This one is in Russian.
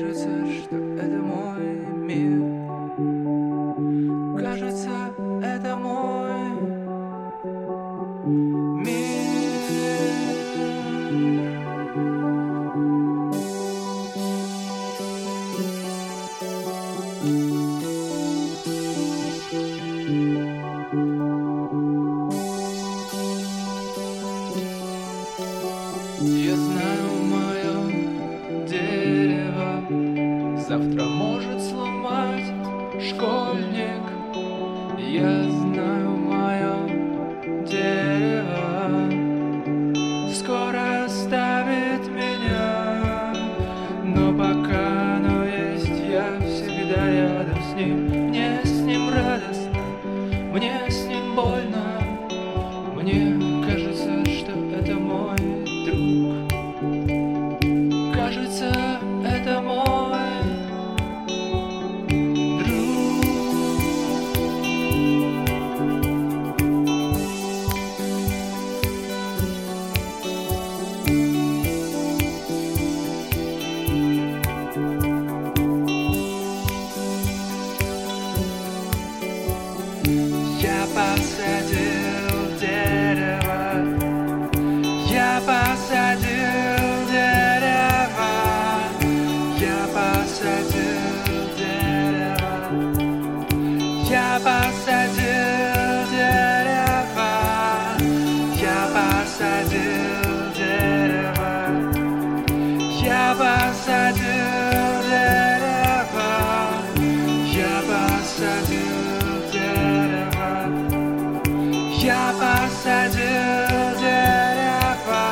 Кажется, что это мой мир. Кажется, это мой мир. Я знаю, мое дерево завтра может сломать школьник. Я знаю, мое дерево скоро оставит меня. Но пока оно есть, я всегда рядом с ним. Мне с ним радостно, мне с ним больно. Мне кажется, что это мой друг. Кажется, это мой друг. Я посадил дерево. Я посадил дерево. Я посадил дерево. Я посадил дерево. Я посадил дерево. Я посадил дерево. Я посадил дерево. Я посадил дерево.